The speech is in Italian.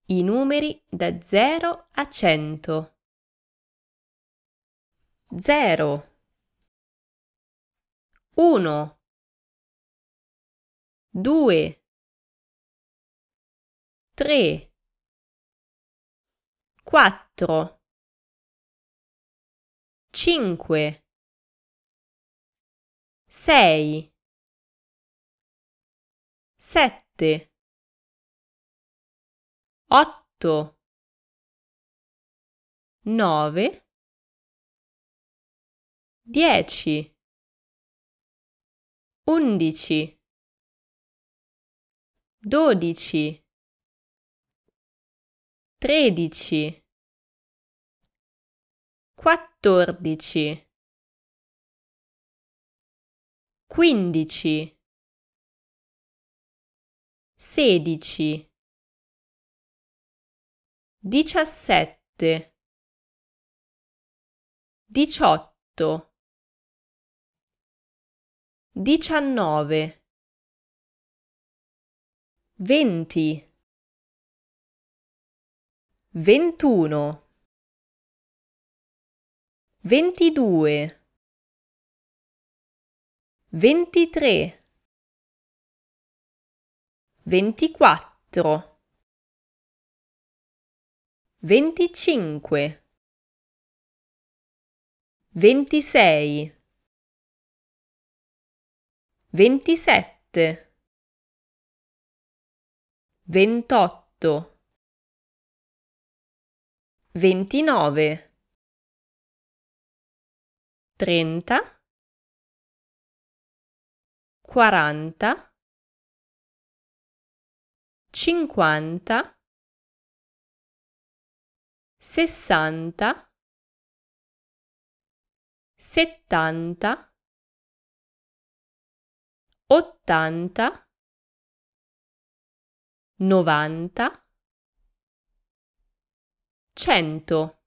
i numeri da 0 a 100. 0, 1, 2, 3, 4, 5, 6, 7, 8, 9, 10, 11, 12, 13, 14, 15, 16, 17, 18, 19, 20, 21, 22, 23, 24, 25, 26, 27, 28, 29, 30, 40, 50, 60, 70, 80, 90, 100.